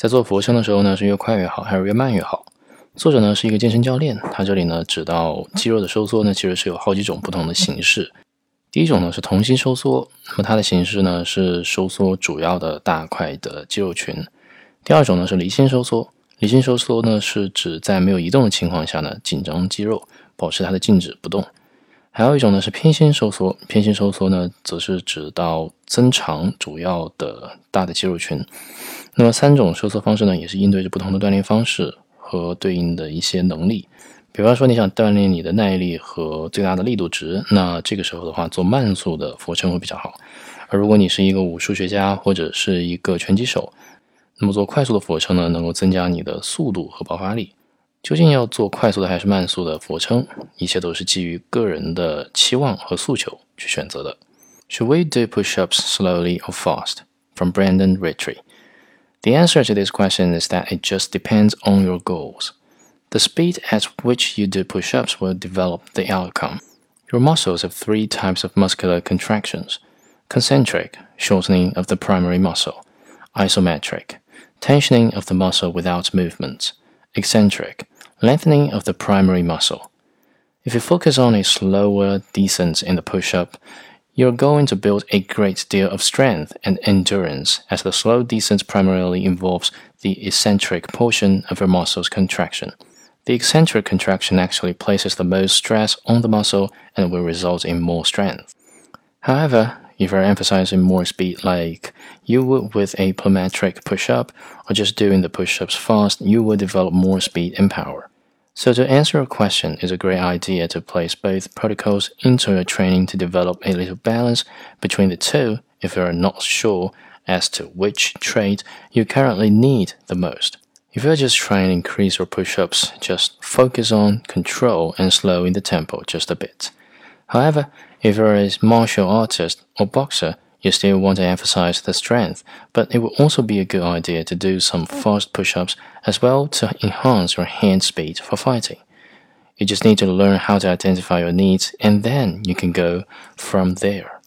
在做俯卧撑的时候呢，是越快越好，还是越慢越好？作者呢是一个健身教练，他这里呢指到肌肉的收缩呢，其实是有好几种不同的形式。第一种呢是同心收缩，那么它的形式呢是收缩主要的大块的肌肉群。第二种呢是离心收缩，离心收缩呢是指在没有移动的情况下呢，紧张肌肉，保持它的静止不动。还有一种呢是偏心收缩，偏心收缩呢则是指到增长主要的大的肌肉群。那么三种收缩方式呢，也是应对着不同的锻炼方式和对应的一些能力。比方说你想锻炼你的耐力和最大的力度值，那这个时候的话做慢速的俯卧撑会比较好。而如果你是一个武术学家或者是一个拳击手，那么做快速的俯卧撑呢，能够增加你的速度和爆发力。究竟要做快速的还是慢速的俯卧撑，一切都是基于个人的期望和诉求去选择的。Should we do push-ups slowly or fast? From Brandon Ritchie. The answer to this question is that it just depends on your goals. The speed at which you do push-ups will develop the outcome. Your muscles have three types of muscular contractions: concentric, shortening of the primary muscle; isometric, tensioning of the muscle without movement; eccentric, lengthening of the primary muscle. If you focus on a slower descent in the push-up, you're going to build a great deal of strength and endurance, as the slow descent primarily involves the eccentric portion of your muscle's contraction. The eccentric contraction actually places the most stress on the muscle and will result in more strength. However, if you're emphasizing more speed like you would with a plyometric push-up, or just doing the push-ups fast, you will develop more speed and power. So to answer your question, it's a great idea to place both protocols into your training to develop a little balance between the two if you are not sure as to which trait you currently need the most. If you're just trying to increase your push-ups, just focus on control and slowing the tempo just a bit. However, if you're a martial artist or boxer, you still want to emphasize the strength, but it will also be a good idea to do some fast push-ups as well to enhance your hand speed for fighting. You just need to learn how to identify your needs, and then you can go from there.